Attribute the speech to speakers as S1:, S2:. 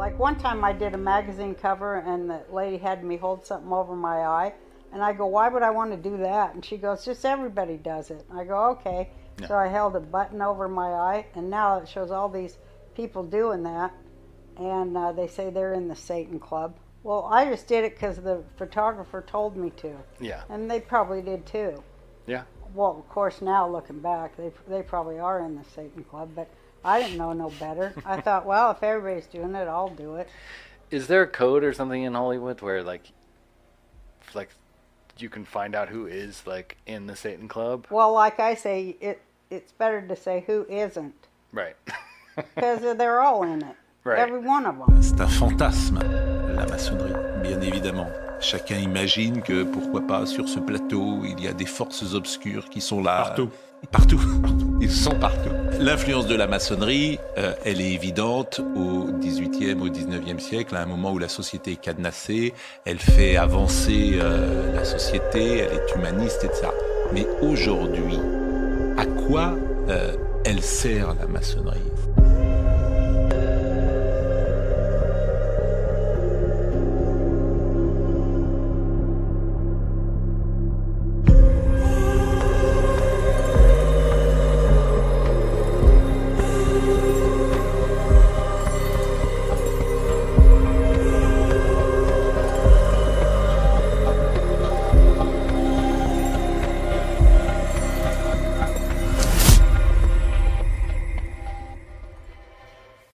S1: Like one time I did a magazine cover and the lady had me hold something over my eye. And I go, why would I want to do that? And she goes, just everybody does it. I go, okay.
S2: Yeah.
S1: So I held a button over my eye, and now it shows all these people doing that. And they say they're in the Satan Club. Well, I just did it because the photographer told me to.
S2: Yeah.
S1: And they probably did too.
S2: Yeah.
S1: Well, of course, now looking back, they probably are in the Satan Club, but I didn't know no better. I thought, well, if everybody's doing it, I'll do it.
S2: Is there a code or something in Hollywood where like you can find out who is like in the Satan Club?
S1: Well, like I say, it's better to say who isn't.
S2: Right.
S1: Because they're all in it.
S2: Right.
S1: Every one of them.
S3: C'est un fantasme, la maçonnerie, bien évidemment. Chacun imagine que, pourquoi pas, sur ce plateau, il y a des forces obscures qui sont là.
S4: Partout.
S3: Partout. Ils sont partout. L'influence de la maçonnerie, elle est évidente au XVIIIe, au XIXe siècle, à un moment où la société est cadenassée, elle fait avancer la société, elle est humaniste, etc. Mais aujourd'hui, à quoi elle sert la maçonnerie ?